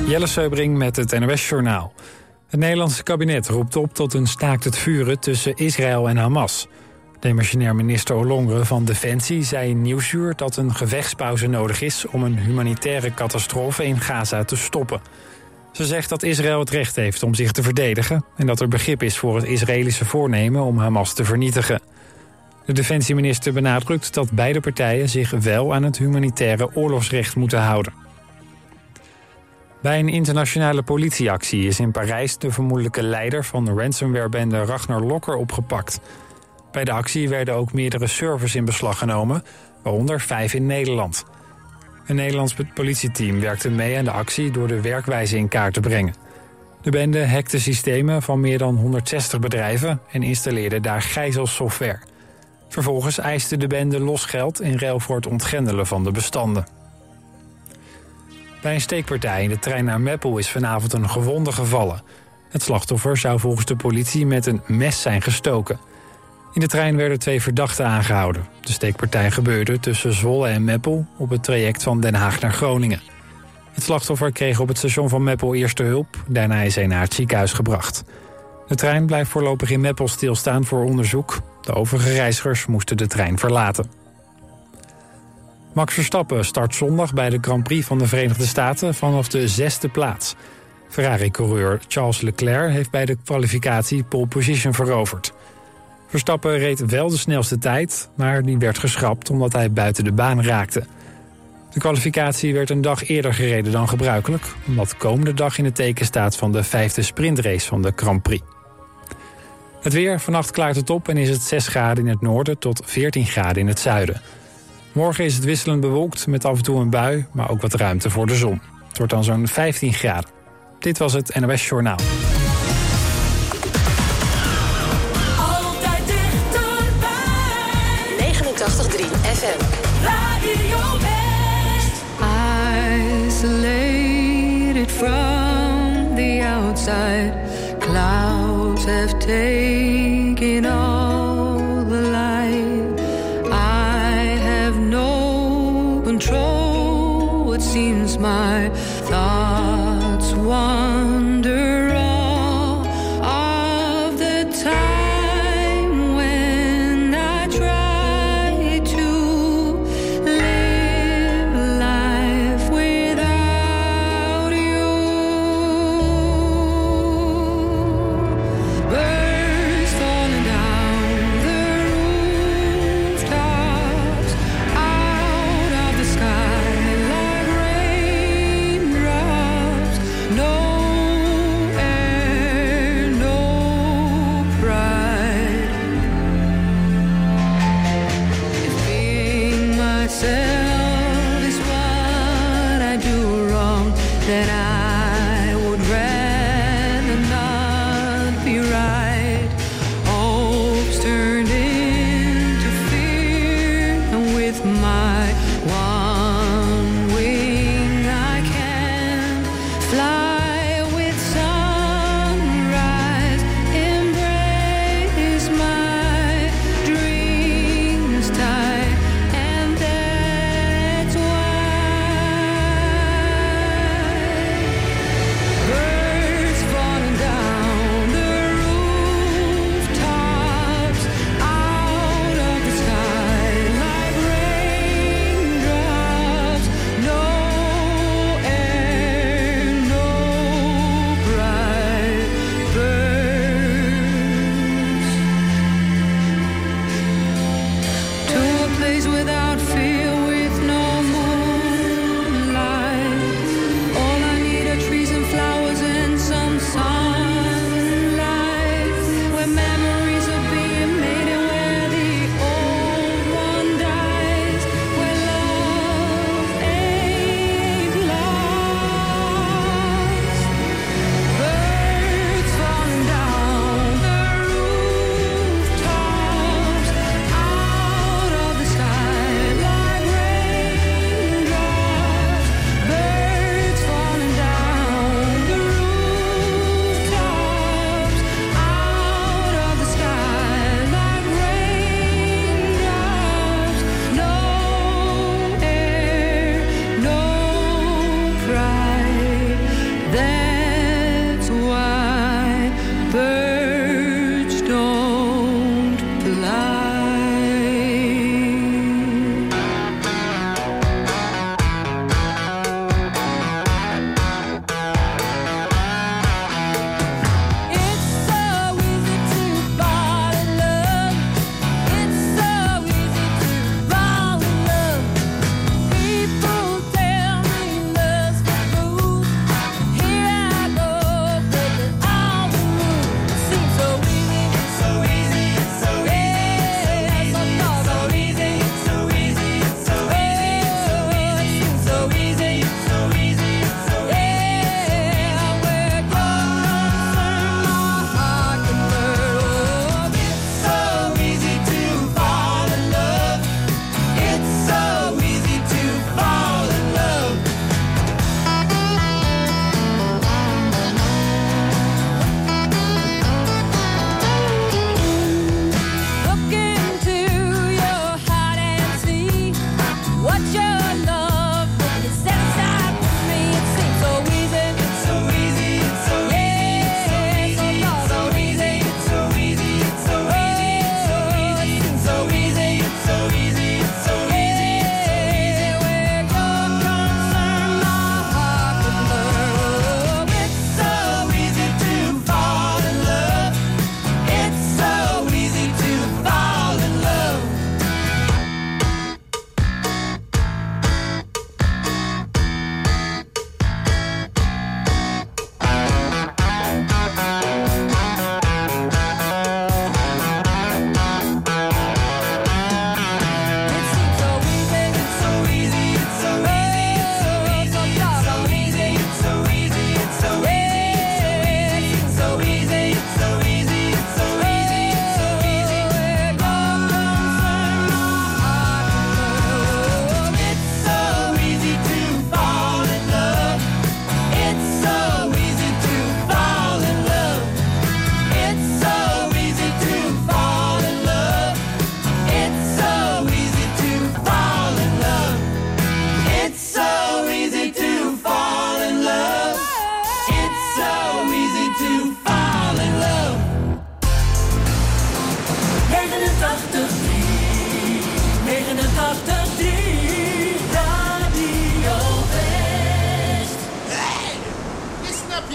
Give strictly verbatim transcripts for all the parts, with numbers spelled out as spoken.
Jelle Seubring met het N O S-journaal. Het Nederlandse kabinet roept op tot een staakt het vuren tussen Israël en Hamas. Demissionair minister Ollongren van Defensie zei in Nieuwsuur dat een gevechtspauze nodig is om een humanitaire catastrofe in Gaza te stoppen. Ze zegt dat Israël het recht heeft om zich te verdedigen en dat er begrip is voor het Israëlische voornemen om Hamas te vernietigen. De defensieminister benadrukt dat beide partijen zich wel aan het humanitaire oorlogsrecht moeten houden. Bij een internationale politieactie is in Parijs de vermoedelijke leider van de ransomwarebende Ragnar Locker opgepakt. Bij de actie werden ook meerdere servers in beslag genomen, waaronder vijf in Nederland. Een Nederlands politieteam werkte mee aan de actie door de werkwijze in kaart te brengen. De bende hackte systemen van meer dan honderdzestig bedrijven en installeerde daar gijzelsoftware. Vervolgens eiste de bende losgeld in ruil voor het ontgrendelen van de bestanden. Bij een steekpartij in de trein naar Meppel is vanavond een gewonde gevallen. Het slachtoffer zou volgens de politie met een mes zijn gestoken. In de trein werden twee verdachten aangehouden. De steekpartij gebeurde tussen Zwolle en Meppel op het traject van Den Haag naar Groningen. Het slachtoffer kreeg op het station van Meppel eerste hulp. Daarna is hij naar het ziekenhuis gebracht. De trein blijft voorlopig in Meppel stilstaan voor onderzoek. De overige reizigers moesten de trein verlaten. Max Verstappen start zondag bij de Grand Prix van de Verenigde Staten vanaf de zesde plaats. Ferrari-coureur Charles Leclerc heeft bij de kwalificatie pole position veroverd. Verstappen reed wel de snelste tijd, maar die werd geschrapt omdat hij buiten de baan raakte. De kwalificatie werd een dag eerder gereden dan gebruikelijk, omdat komende dag in het teken staat van de vijfde sprintrace van de Grand Prix. Het weer, vannacht klaart het op en is het zes graden in het noorden tot veertien graden in het zuiden. Morgen is het wisselend bewolkt met af en toe een bui, maar ook wat ruimte voor de zon. Het wordt dan zo'n vijftien graden. Dit was het N O S-journaal. Altijd dichterbij. negenentachtig komma drie F M. Radio West. Isolated from the outside, clouds have taken all the light. I have no control, it seems my thoughts wander all of the time when I try to live life without you. Birds falling down the rooftops, out of the sky like raindrops. No air, no pride. If being myself is what I do wrong, then I would rather not be right. Hopes turned into fear, and with my one wing I can fly with sunrise, embrace my dreams tight, and that's why birds falling down the rooftops, out of the sky like raindrops. No air, no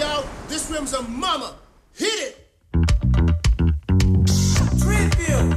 yo. This rim's a mama. Hit it. Tribute.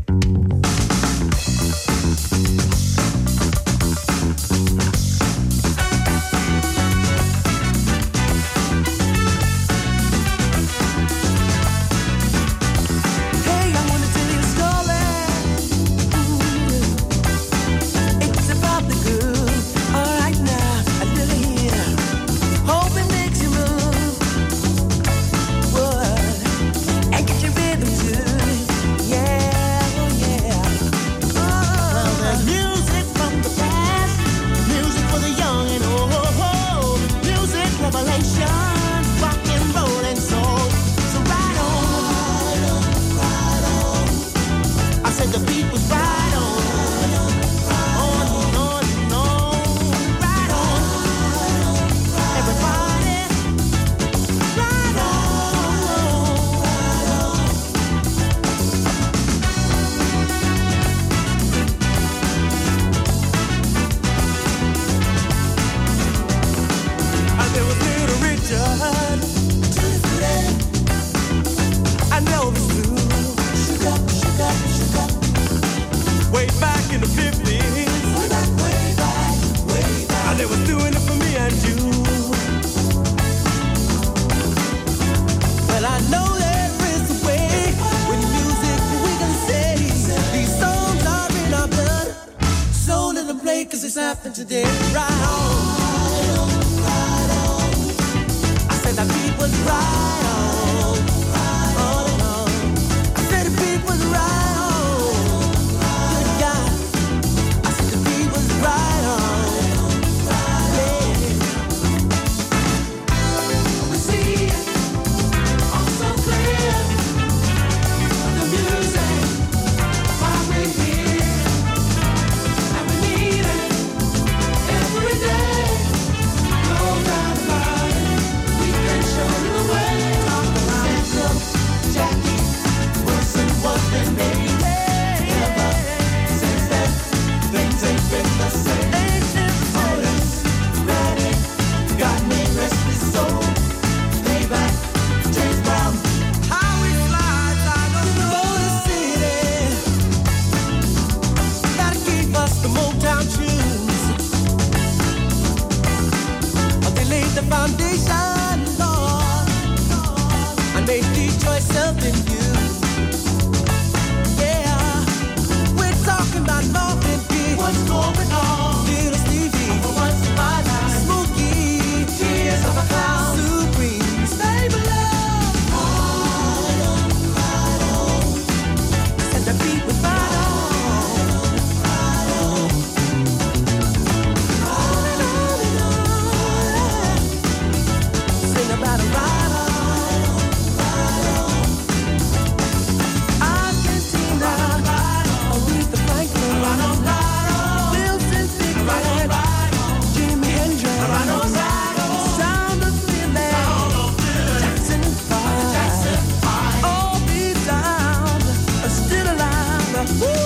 Today, right on, right on. I said the beat was right on, on and on. I said the beat was right on, good God. I said the beat was right on, yeah. We see it all so clear. The music, why we here, and we need it. Every day, no doubt about it. We can show you the way. Central, Jackie Wilson was the name. Ever since then, things ain't been the same. Otis Redding got me restless soul. Payback, James Brown. How we fly, I don't know the city. Gotta keep us the Motown tunes. Laid the foundation, Lord, and made Detroit something new. Yeah, we're talking about North and Key. What's going on? Little Stevie, for once in my life. Smokey, Tears of a Clown. Supreme, stay below. Right on, right on. Said the beat was right on, right on. On and on and on. Sing about a ride on, ride on. Argentina, Aretha Franklin, Wilson Pickford, Jimi Hendrix, Sound of Philly, Jackson Five. All these sounds are still alive. Woo!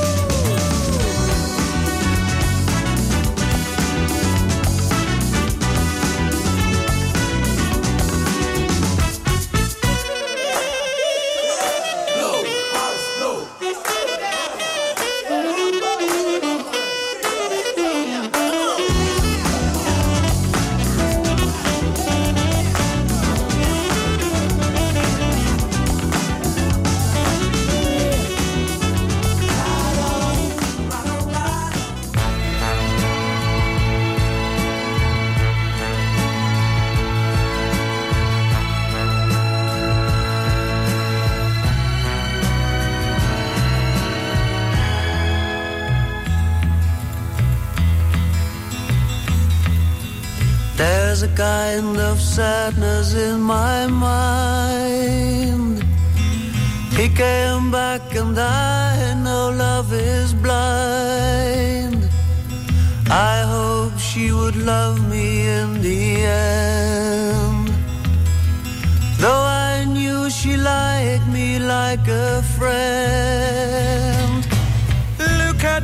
There's a kind of sadness in my mind. He came back and I know love is blind. I hope she would love me in the end. Though I knew she liked me like a friend. Look at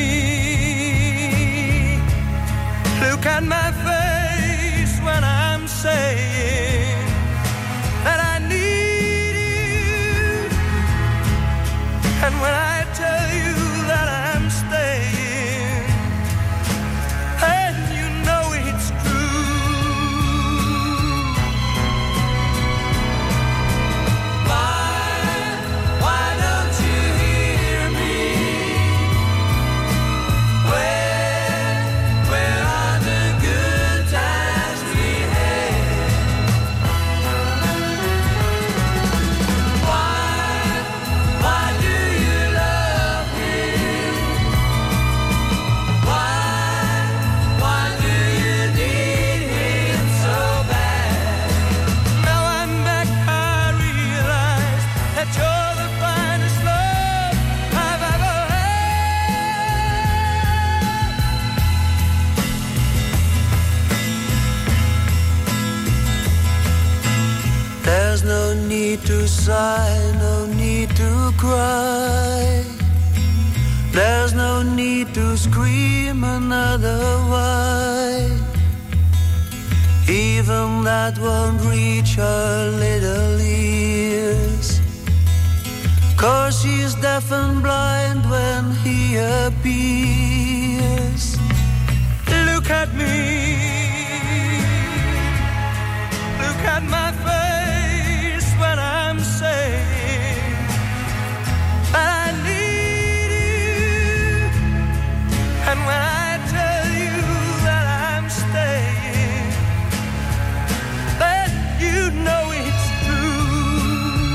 me, look at my face when I'm saying need to sigh, no need to cry. There's no need to scream another why. Even that won't reach her little ears. 'Cause she's deaf and blind when he appears. Look at me. Look at my face when I'm saying that I need you. And when I tell you that I'm staying, then you know it's true.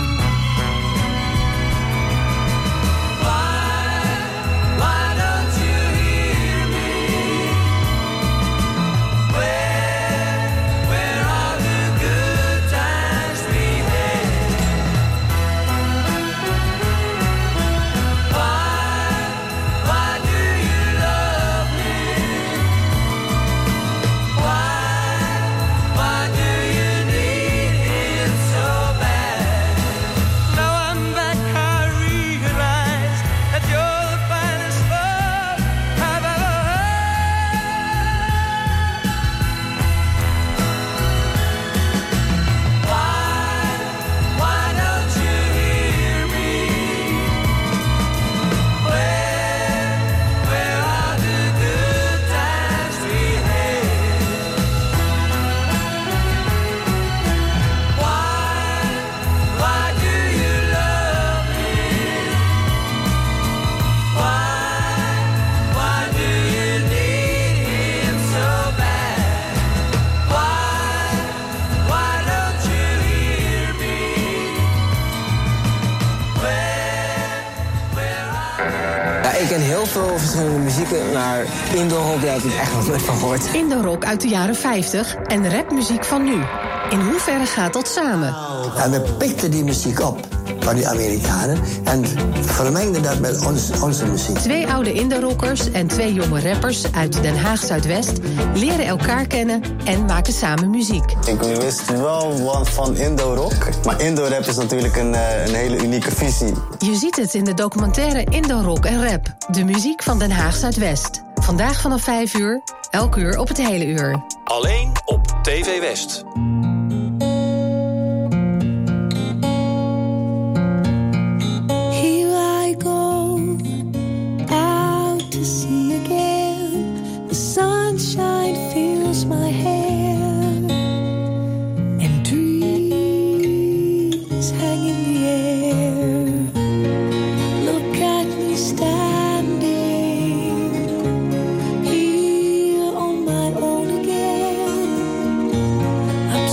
Why, why don't you hear me? Where, where are the good times we had? Why, why do you love me? Why, why do you need it so bad? Now I'm back, I realize that you're the finest love I've ever heard. Why, why don't you hear me? Where, where are the good times we had? Why, why do you love me? Why, why do you need him so bad? Why, why don't you hear me? Where, where are Ja, ik ken heel veel verschillende muzieken, maar Indorok, daar heb ik echt nog nooit van gehoord. Indorok uit de jaren vijftig en rapmuziek van nu. In hoeverre gaat dat samen? En we pikten die muziek op van die Amerikanen en vermengden dat met ons, onze muziek. Twee oude Indorockers en twee jonge rappers uit Den Haag Zuidwest leren elkaar kennen en maken samen muziek. Ik wist wel wat van Indorok, maar Indorap is natuurlijk een, uh, een hele unieke visie. Je ziet het in de documentaire Indorok en Rap, de muziek van Den Haag Zuidwest. Vandaag vanaf vijf uur, elk uur op het hele uur. Alleen op T V West. Here I go, out to sea again. The sunshine fills my hair, and dreams hang in the air. Look at me standing here on my own again. I'm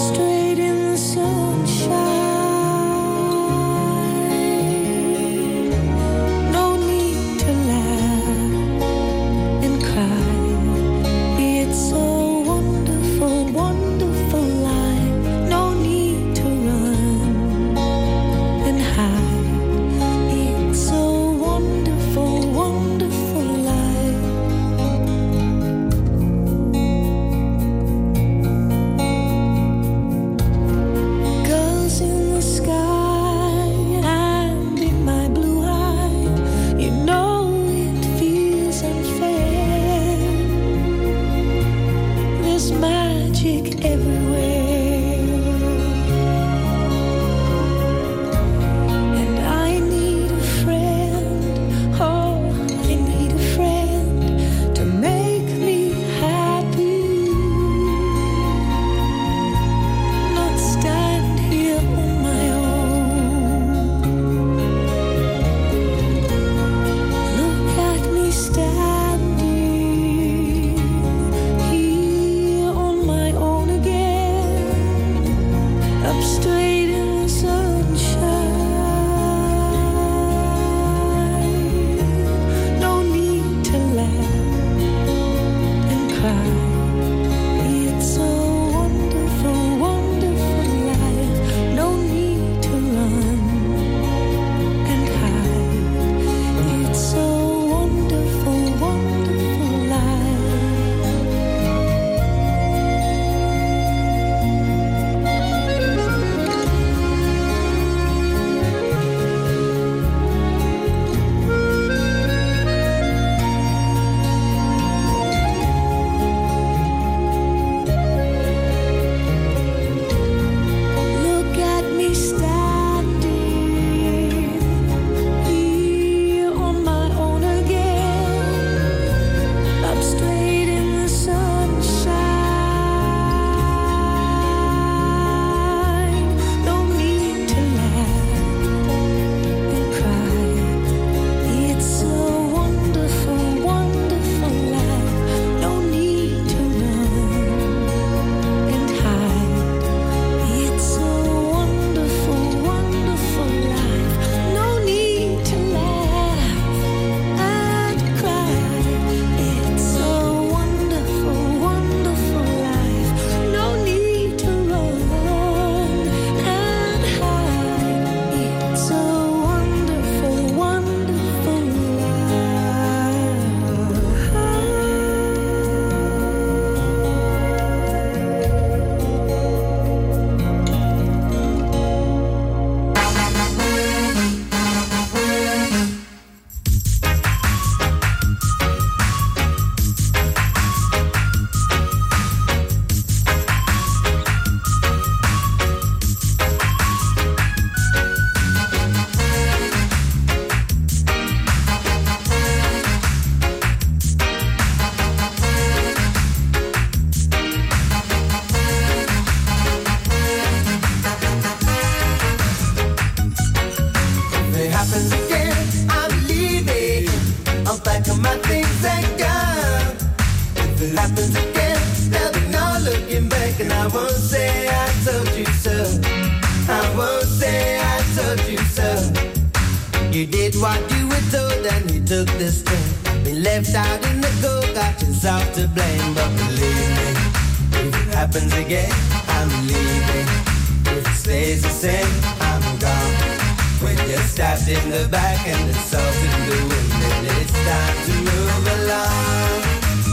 so. I won't say I told you so. You did what you were told and you took the string. Been left out in the cold, got yourself to blame. But believe me, if it happens again, I'm leaving. If it stays the same, I'm gone. When you're stabbed in the back and the salt in the wind, then it's time to move along.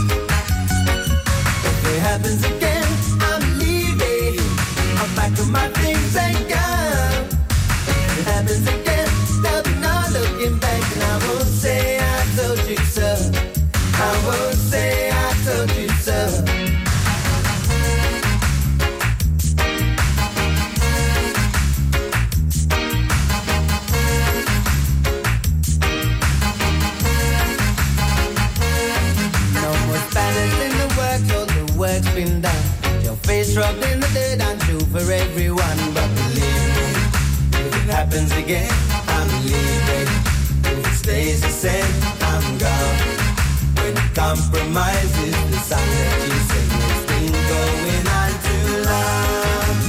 If it happens again, I'm leaving. I'll pack up my things and go. If it happens again, there'll be no looking back. And I won't say I told you so. I won't say I told you so. Work's been done. Your face rubbed in the dirt and true for everyone. But believe me, if it happens again, I'm leaving. If it stays the same, I'm gone. When it compromises the song that you sing, it's been going on too long.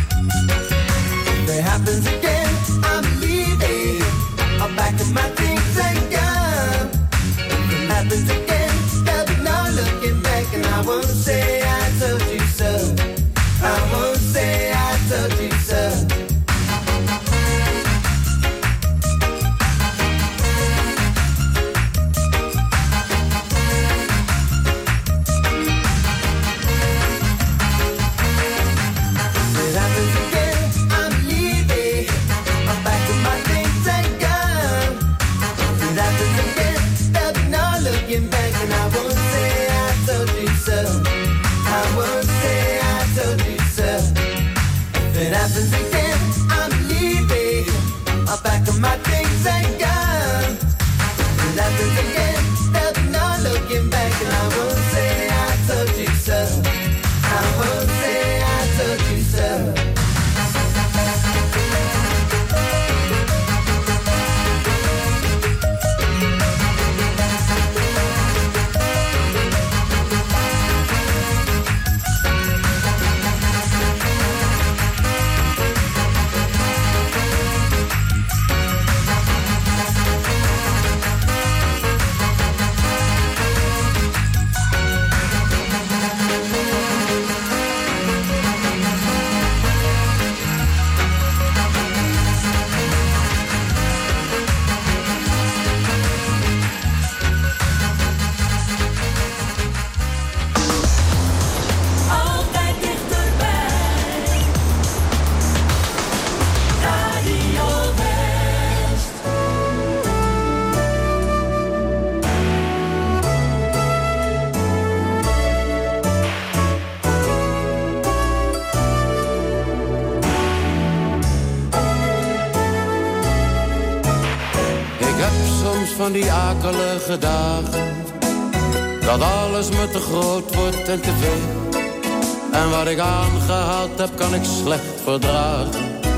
If it happens again, I'm leaving. I'll pack up my things and go. If it happens again, there'll be no looking back. And I won't say I told you so. I won't say I told you so. If it happens again, I'm leaving. I'm back with my things and gone. If it happens again, there'll be no looking back. And I won't say I told you so. I won't say I told you so. If it happens again, I'm leaving. I'll pack up my things and go. If it happens again, there'll be no looking back. And I won't say I told you so. I won't say I told you so. Van die akelige dagen, dat alles me te groot wordt en te veel. En wat ik aangehaald heb, kan ik slecht verdragen.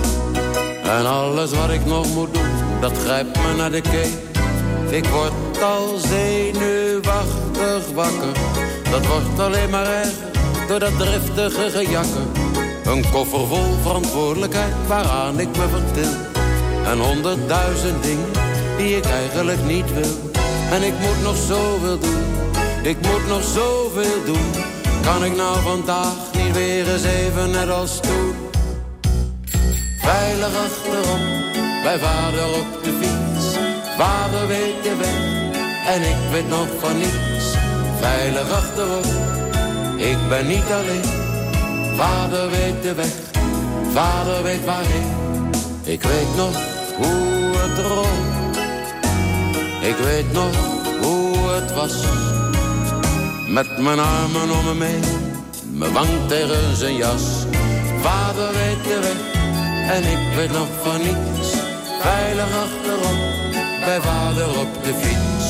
En alles wat ik nog moet doen, dat grijpt me naar de keel. Ik word al zenuwachtig wakker, dat wordt alleen maar erger door dat driftige gejakker. Een koffer vol verantwoordelijkheid waaraan ik me vertil. En honderdduizend dingen die ik eigenlijk niet wil. En ik moet nog zoveel doen, ik moet nog zoveel doen. Kan ik nou vandaag niet weer eens even net als toen? Veilig achterop, bij vader op de fiets. Vader weet de weg, en ik weet nog van niets. Veilig achterop, ik ben niet alleen. Vader weet de weg, vader weet waarheen. Ik weet nog hoe het rolt. Ik weet nog hoe het was. Met mijn armen om me heen, mijn wang tegen zijn jas. Vader weet de weg, en ik weet nog van niets. Veilig achterop, bij vader op de fiets.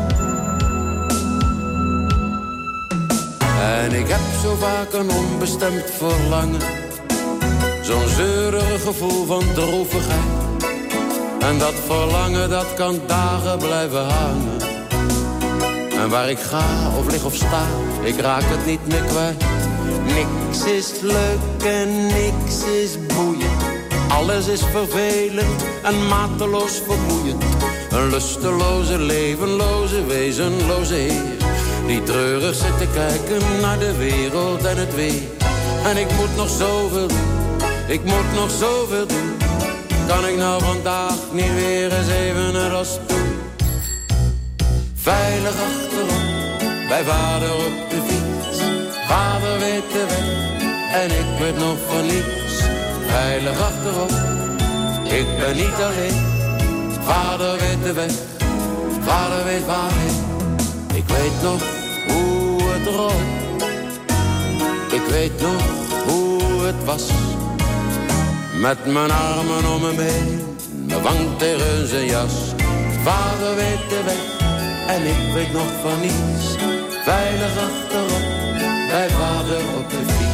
En ik heb zo vaak een onbestemd verlangen. Zo'n zeurig gevoel van droevigheid. En dat verlangen, dat kan dagen blijven hangen. En waar ik ga, of lig of sta, ik raak het niet meer kwijt. Niks is leuk en niks is boeiend. Alles is vervelend en mateloos vermoeiend. Een lusteloze, levenloze, wezenloze heer, die treurig zit te kijken naar de wereld en het weer. En ik moet nog zoveel doen, ik moet nog zoveel doen. Kan ik nou vandaag niet weer eens even naar als toen? Veilig achterop, bij vader op de fiets. Vader weet de weg en ik weet nog van niets. Veilig achterop, ik ben niet alleen. Vader weet de weg, vader weet waarheen. Ik weet nog hoe het rolt. Ik weet nog hoe het was. Met mijn armen om hem heen, mijn wang tegen zijn jas. Vader weet de weg en ik weet nog van niets. Veilig achterop, bij vader op de fiets.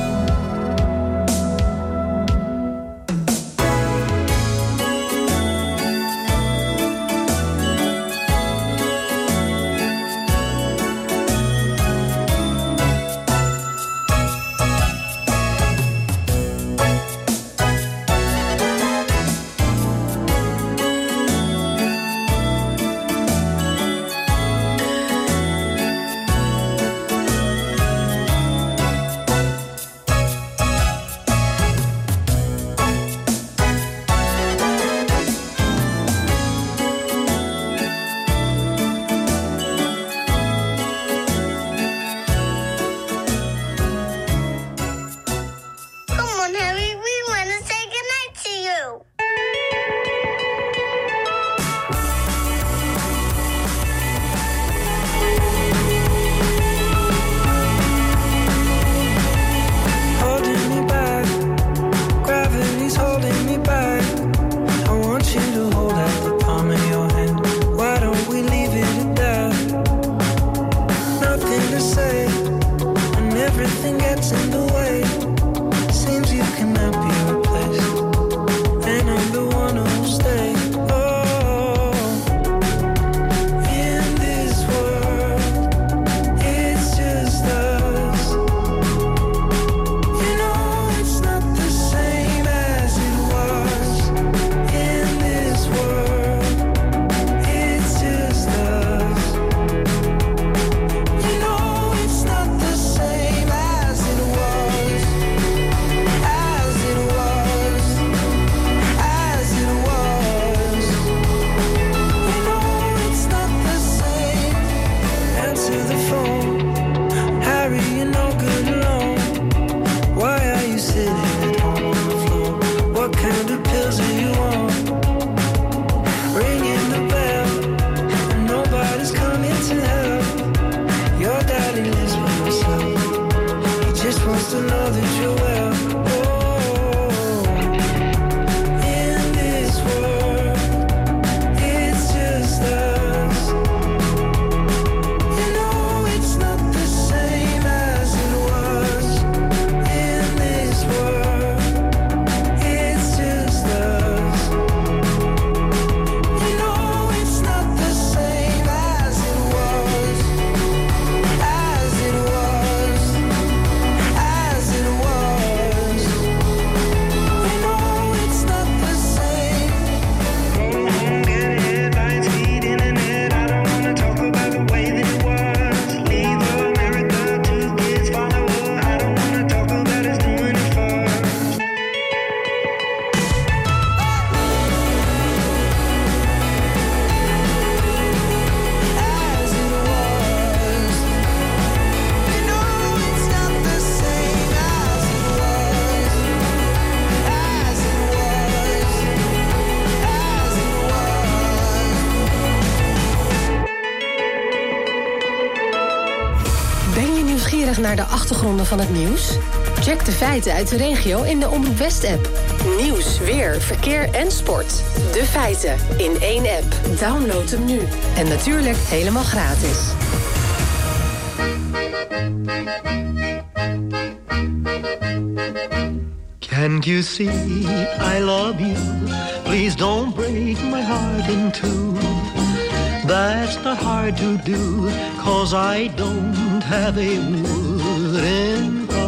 Naar de achtergronden van het nieuws? Check de feiten uit de regio in de Omroep West-app. Nieuws, weer, verkeer en sport. De feiten in één app. Download hem nu. En natuurlijk helemaal gratis. Can't you see I love you? Please don't break my heart in two. That's not hard to do, 'cause I don't have a wooden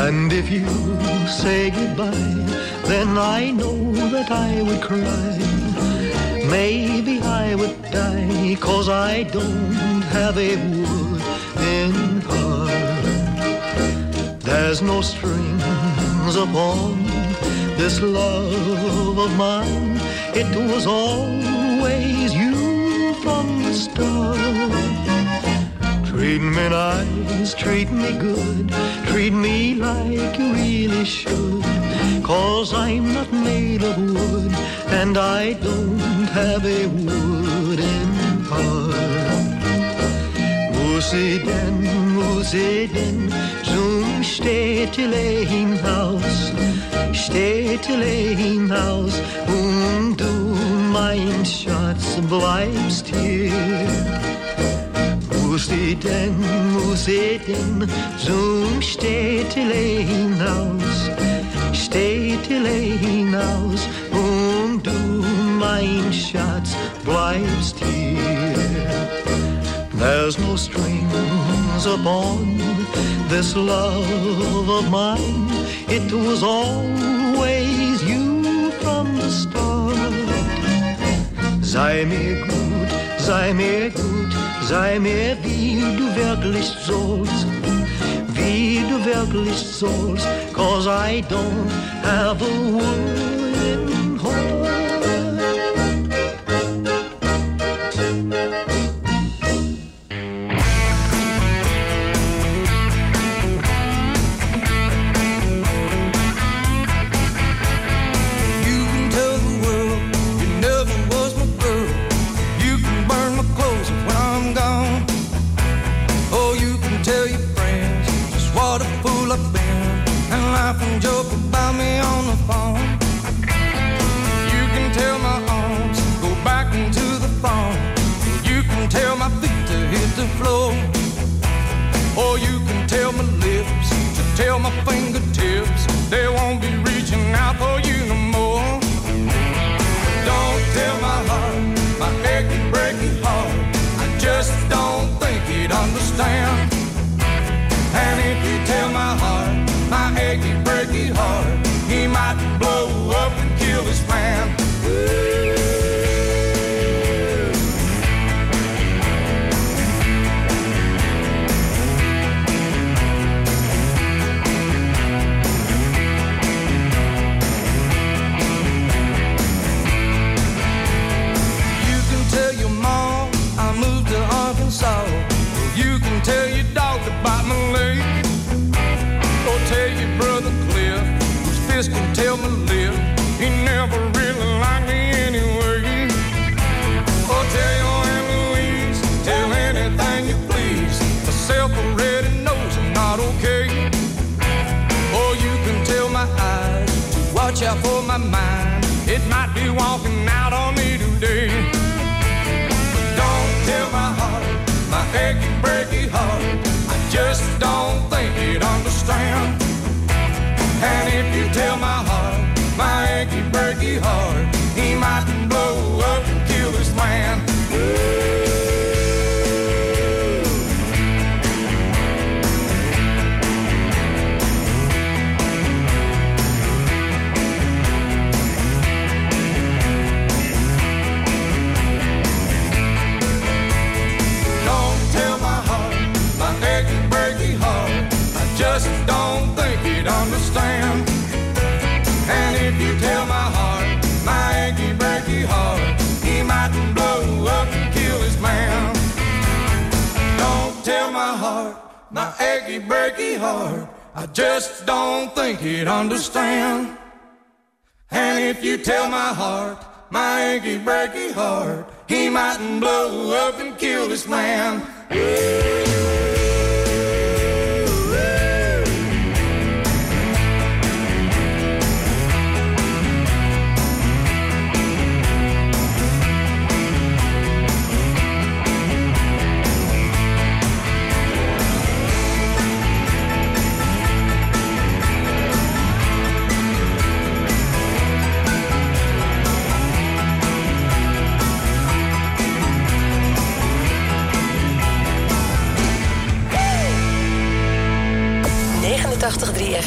And if you say goodbye, then I know that I would cry. Maybe I would die, 'cause I don't have a wooden heart. There's no strings upon this love of mine. It was always you from the start. Treat me nice, treat me good, treat me like you really should. 'Cause I'm not made of wood, and I don't have a wooden heart. Musiden, musiden, zum städtele hinaus, städtele hinaus, und du, mein Schatz, bleibst hier. Musiden, musiden, zum städtele hinaus, städtele hinaus, und du, mein Schatz, bleibst hier. There's no strings upon this love of mine. It was always you from the start. Sei mir gut, sei mir gut, sei mir wie du wirklich sollst, wie du wirklich sollst, 'cause I don't have a wooden heart. And joke about me on the phone. You can tell my arms go back into the phone. You can tell my feet to hit the floor. Or you can tell my lips to tell my fingertips they won't be reaching out for you no more. Don't tell my heart, my achy breaky heart, I just don't think he'd understand. And if you tell my heart, my achy, breaky heart, he might blow up and kill this man. You can tell your mom I moved to Arkansas. You can tell your dog about my leg. Tell your brother Cliff, whose fist can tell my lip, he never really liked me anyway. Or tell your Aunt Louise, tell anything you please, myself already knows I'm not okay. Or you can tell my eyes to watch out for my mind, it might be walking out on me today. But don't tell my heart, my achy breaky heart, I just don't think he'd understand. And if you tell my heart, my achy breaky heart, he might blow up and kill this man. Don't tell my heart, my achy breaky heart, I just don't think he'd understand. And if you tell my heart, my achy breaky heart, he might blow up and kill his man. Don't tell my heart, my achy breaky heart, I just don't think he'd understand. And if you tell my heart, my achy breaky heart, he might blow up and kill this man.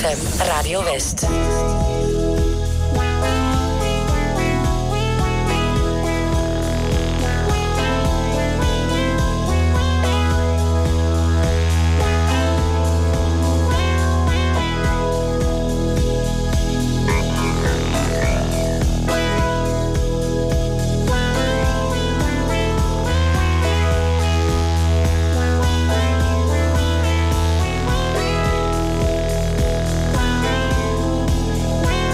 F M, Radio West. Thank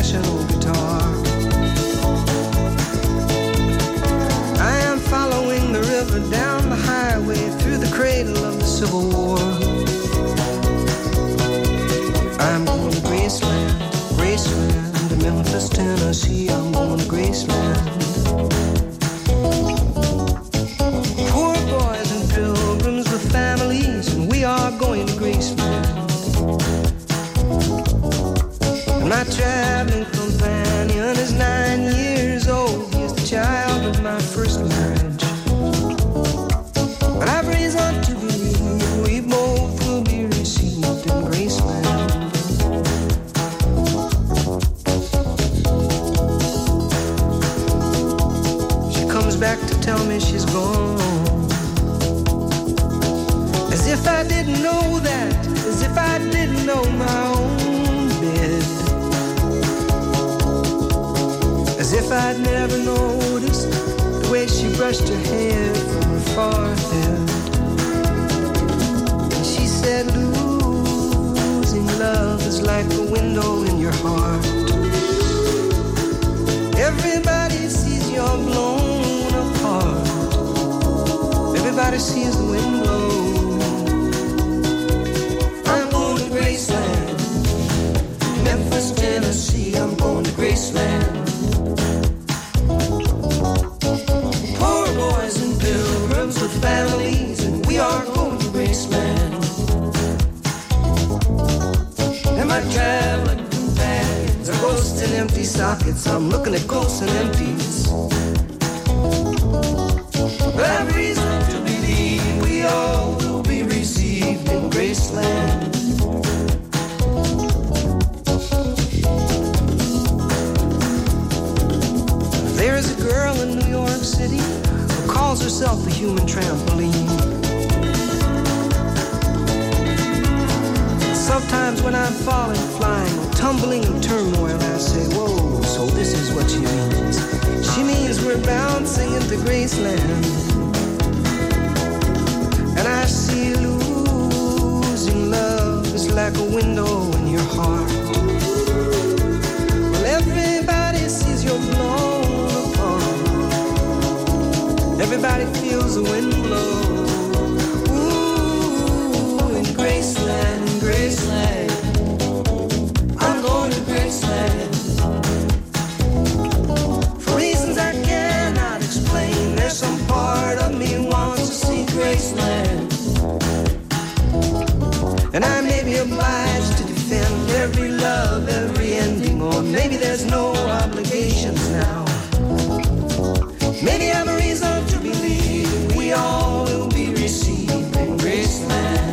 professional guitar. I am following the river down the highway through the cradle of the Civil War. I'm going to Graceland, Graceland, to Memphis, Tennessee. I'm going to Graceland. Poor boys and pilgrims with families, and we are going to Graceland. And my traveling companion is nine years old. He is the child of my first marriage. But I've reason to believe we both will be received in Graceland. She comes back to tell me she's gone. As if I didn't know that, as if I didn't know my own bed. As if I'd never noticed the way she brushed her hair from her forehead. And she said, losing love is like a window in your heart. Everybody sees you're blown apart. Everybody sees the wind blow. I'm going to Graceland, Memphis, Tennessee. I'm going to Graceland. Poor boys and pilgrims with families, and we are going to Graceland. And my traveling companions are ghosts and empty sockets. I'm looking at ghosts and empties. But I've reason to believe we all will be received in Graceland. There's a girl in New York City who calls herself a human trampoline. Sometimes when I'm falling, flying, tumbling in turmoil, I say, whoa, so this is what she means. She means we're bouncing into Graceland. And I see losing love is like a window in your heart. Well, everybody sees you're blown apart. Everybody feels the wind blow. Ooh, in Graceland, in Graceland. I'm going to Graceland. For reasons I cannot explain, there's some part of me wants to see Graceland. And I may be obliged to defend every love, every ending, or maybe there's no obligations now. Maybe I'm a reason to believe we all will be received in Graceland.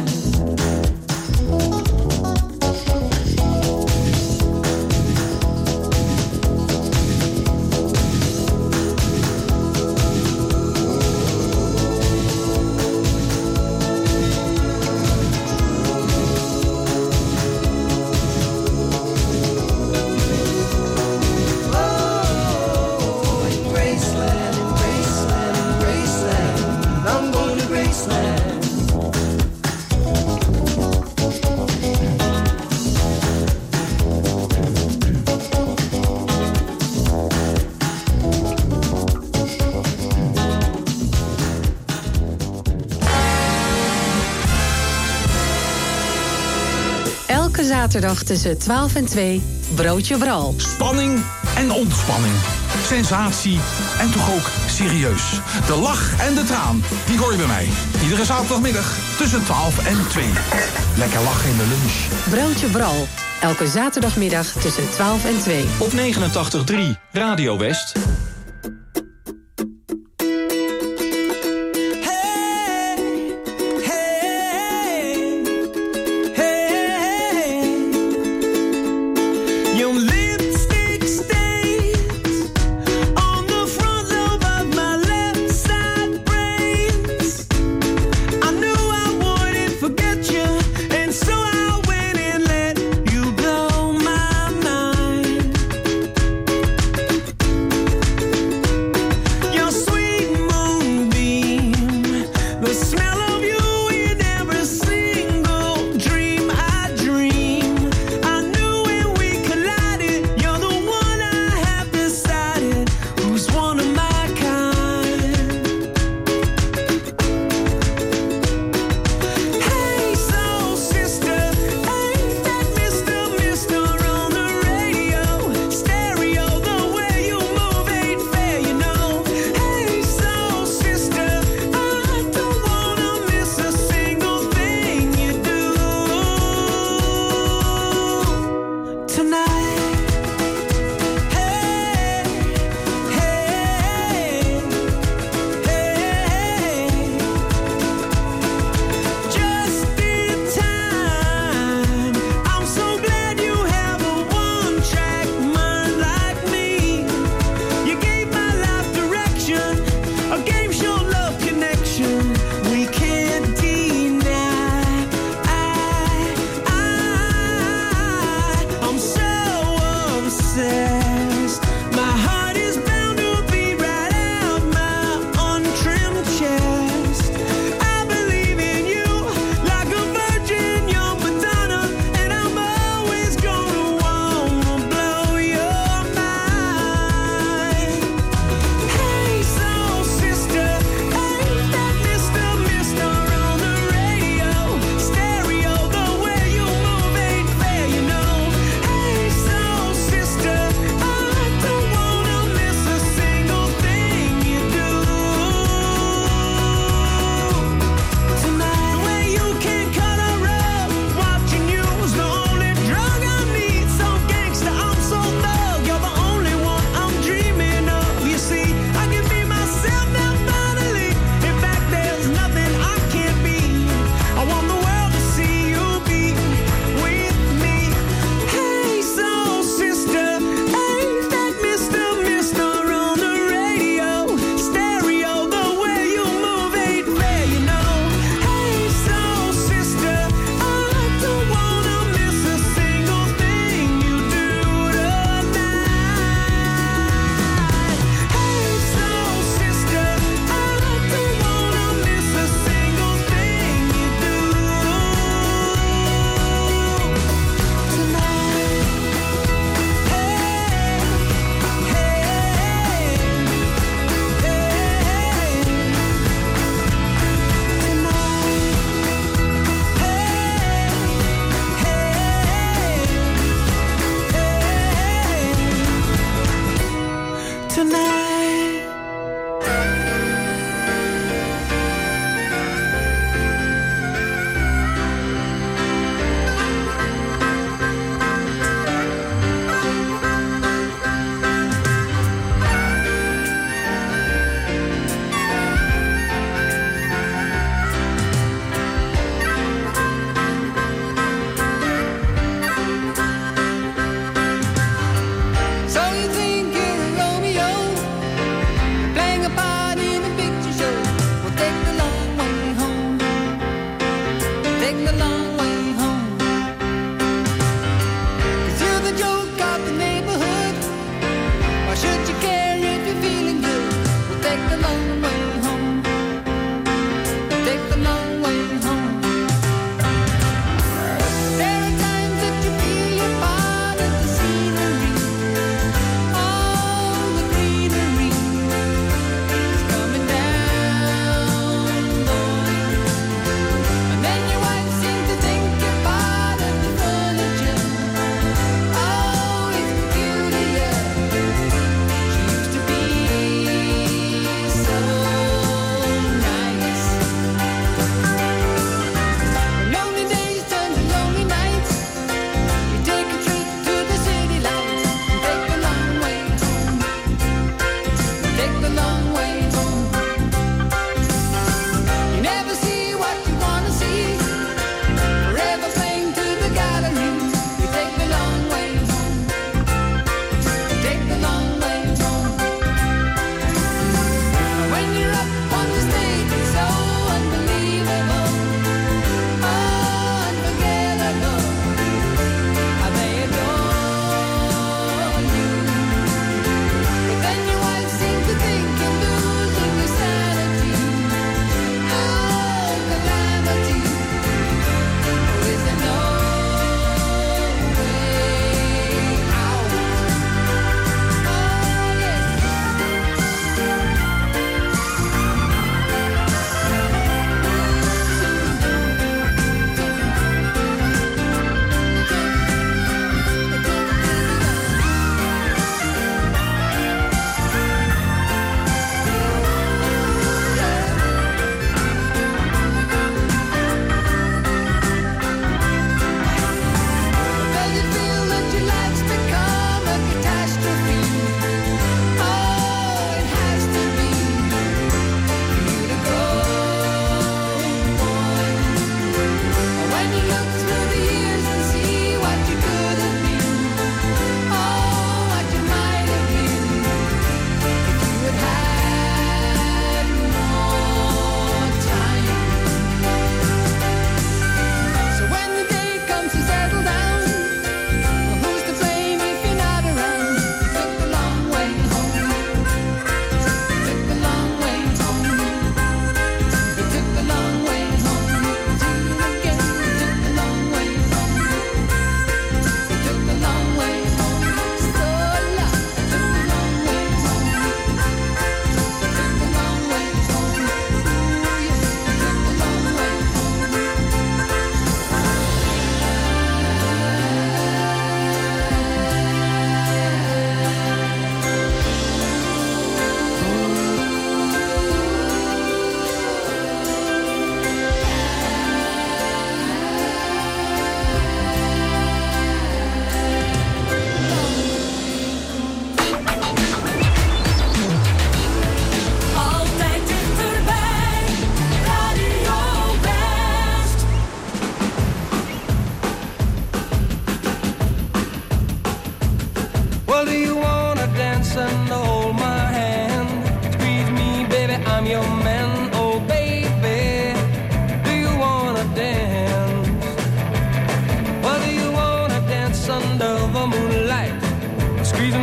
Zaterdag tussen twaalf en twee, Broodje Bral. Spanning en ontspanning. Sensatie en toch ook serieus. De lach en de traan, die hoor je bij mij. Iedere zaterdagmiddag tussen twaalf en twee. Lekker lachen in de lunch. Broodje Bral. Elke zaterdagmiddag tussen twaalf en twee. Op negenentachtig drie Radio West. You blow my mind.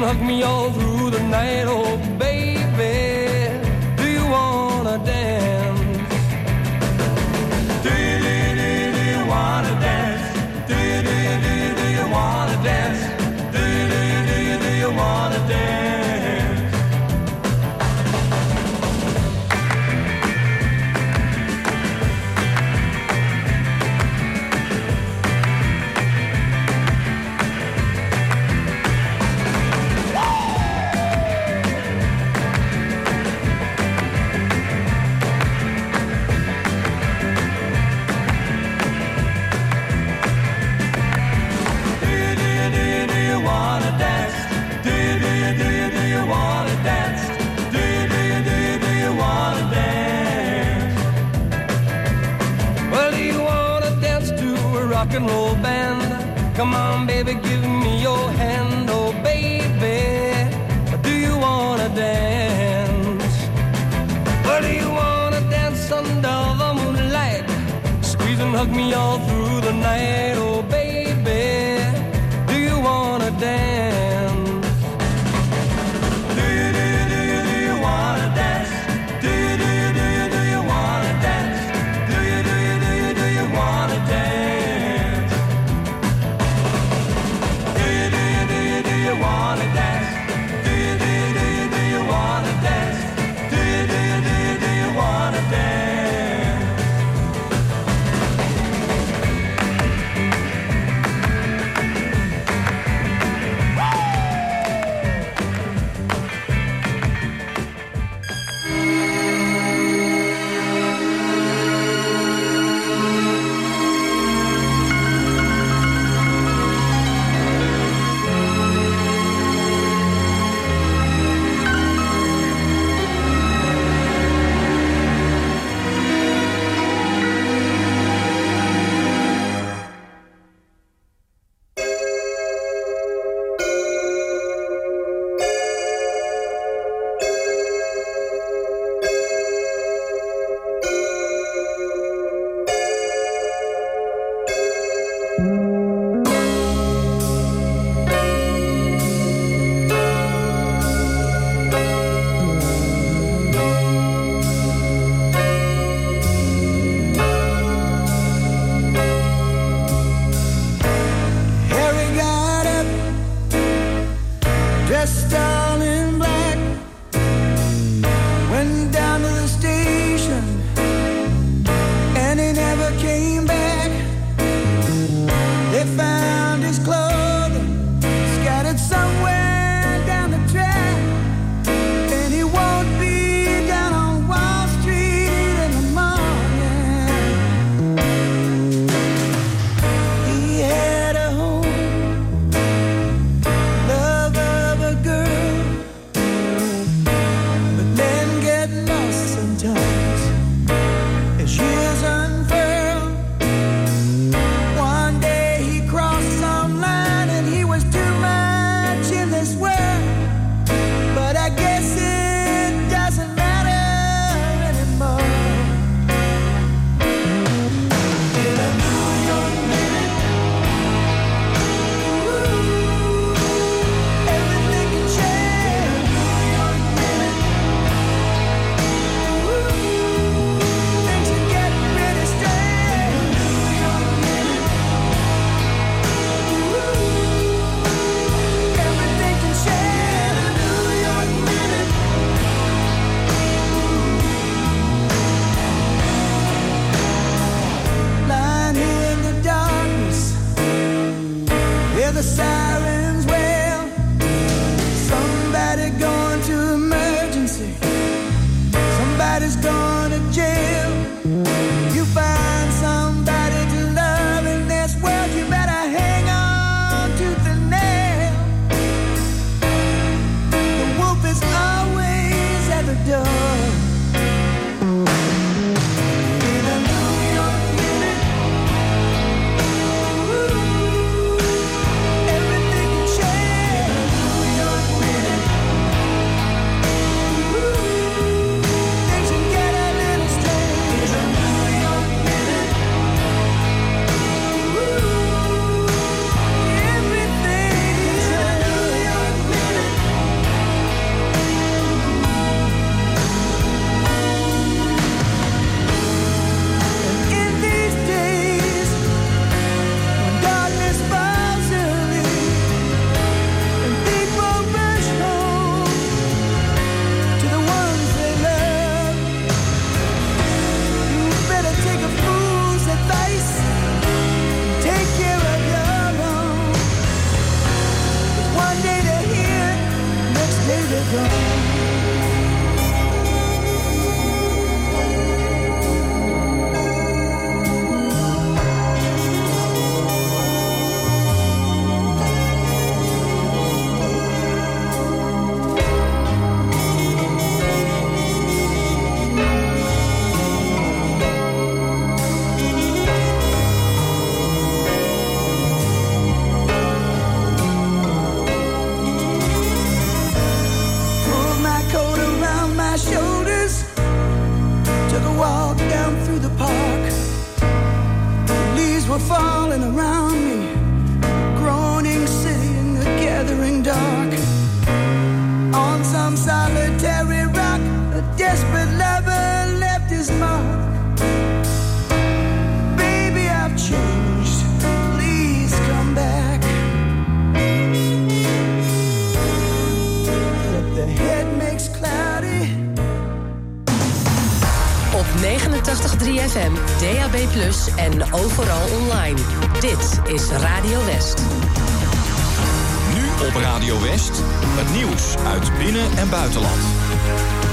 hug me all through the night. Oh, baby, do you wanna dance? Do you, do you, do you, do you wanna dance? Do you, do you, do you, do you wanna dance? Do you, do you, do you, do you wanna dance? Rock and roll band, come on baby, give me your hand. Oh baby, do you wanna dance? Well, do you wanna dance under the moonlight? Squeeze and hug me all through the night. Oh baby, do you wanna dance? Do you, do you, do you, do you wanna dance? Do you, do you, do you, do you wanna dance? Do you, do you, do you, do you wanna dance? Do you wanna dance? Do you, do you, do you, do you wanna dance? Do you, do you, do you, do you wanna dance? walk down through the park. The leaves were falling around me, groaning city in the gathering dark. On some solitary rock, a desperate lover left his mark. Baby, I've changed, please come back. If the head makes cloudy. Op negenentachtig komma drie F M, D A B plus, en overal online. Dit is Radio West. Nu op Radio West, het nieuws uit binnen- en buitenland.